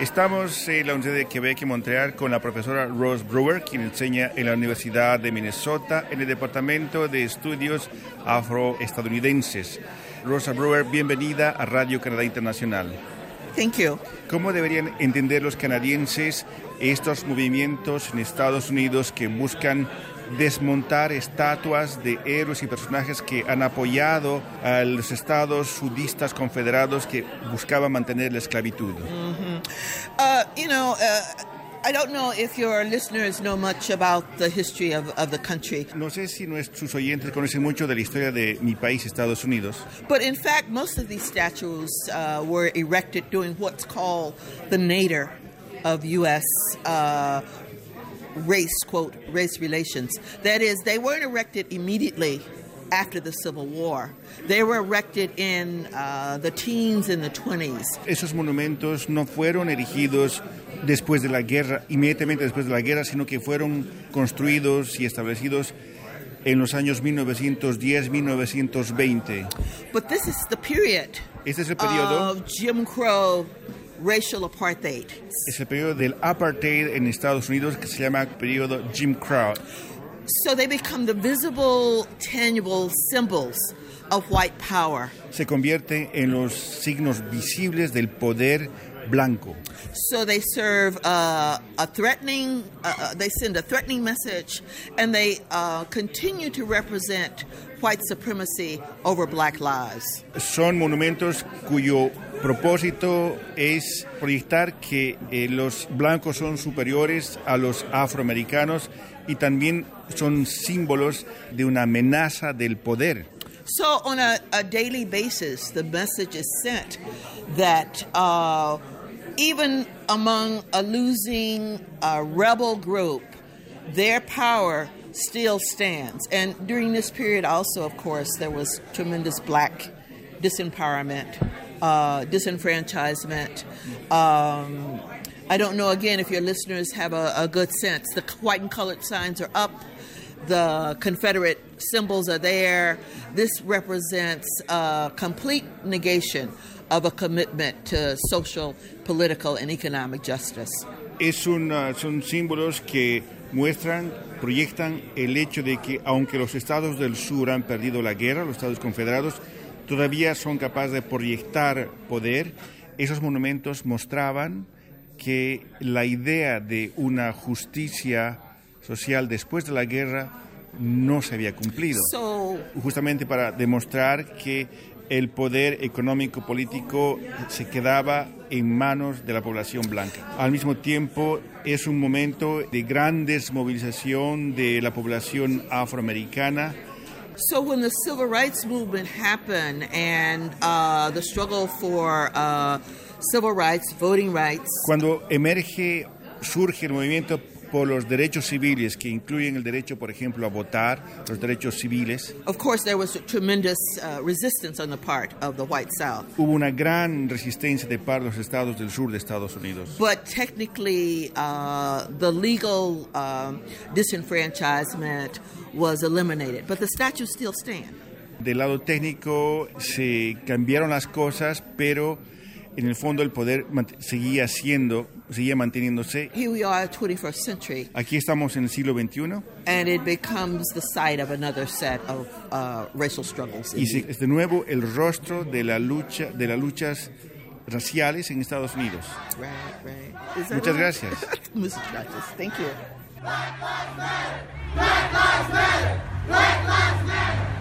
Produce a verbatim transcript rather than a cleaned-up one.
Estamos en la Universidad de Quebec y Montreal con la profesora Rose Brewer, quien enseña en la Universidad de Minnesota en el Departamento de Estudios Afroestadounidenses. Rosa Brewer, bienvenida a Radio Canadá Internacional. Thank you. ¿Cómo deberían entender los canadienses estos movimientos en Estados Unidos que buscan desmontar estatuas de héroes y personajes que han apoyado a los estados sudistas confederados que buscaban mantener la esclavitud? Mm-hmm. Uh, you know, uh, I don't know if your listeners know much about the history of, of the country. No sé si nuestros oyentes conocen mucho de la historia de mi país, Estados Unidos. But in fact, most of these statues uh, were erected during what's called the nadir of U S uh, race, quote, race relations. That is, they weren't erected immediately after the Civil War. They were erected in uh, the teens and the twenties. Esos monumentos no fueron erigidos después de la guerra, inmediatamente después de la guerra, sino que fueron construidos y establecidos en los años mil novecientos diez, mil novecientos veinte. But this is the period Este es el periodo of Jim Crow racial apartheid. Es el periodo del apartheid en Estados Unidos, que se llama periodo Jim Crow. So they become the visible, tangible symbols of white power. Se convierte en los signos visibles del poder blanco. So they serve uh, a threatening, uh, they send a threatening message, and they uh, continue to represent white supremacy over black lives. Son monumentos cuyo propósito es proyectar que eh, los blancos son superiores a los afroamericanos y también son símbolos de una amenaza del poder. So on a, a daily basis, the message is sent that uh, even among a losing uh, rebel group, their power still stands. And during this period also, of course, there was tremendous black disempowerment, uh, disenfranchisement. Um, I don't know, again, if your listeners have a, a good sense. The white and colored signs are up. The Confederate symbols are there. This represents a complete negation of a commitment to social, political, and economic justice. Es un, uh, son símbolos que muestran, proyectan el hecho de que aunque los estados del sur han perdido la guerra, los estados confederados todavía son capaces de proyectar poder. Esos monumentos mostraban que la idea de una justicia social después de la guerra no se había cumplido. So, justamente para demostrar que el poder económico político se quedaba en manos de la población blanca. Al mismo tiempo, es un momento de gran desmovilización de la población afroamericana. So when the civil rights movement happened and uh, the struggle for uh, civil rights, voting rights. Cuando emerge, surge el movimiento por los derechos civiles, que incluyen el derecho, por ejemplo, a votar, los derechos civiles. Of course, there was tremendous uh, resistance on the part of the white South. Hubo una gran resistencia de parte de los estados del sur de Estados Unidos. But technically, uh, the legal um, disenfranchisement was eliminated, but the statues still stand. Del lado técnico se cambiaron las cosas, pero en el fondo el poder seguía siendo, seguía manteniéndose. Here we are, twenty-first century. Aquí estamos en el siglo veintiuno. And it becomes the site of another set of uh, racial struggles. Y se, es de nuevo el rostro de la lucha, de las luchas raciales en Estados Unidos. Right, right. Is that Muchas right? gracias. Muchas gracias. Thank you. Black Lives Matter! Black Lives Matter! Black Lives Matter!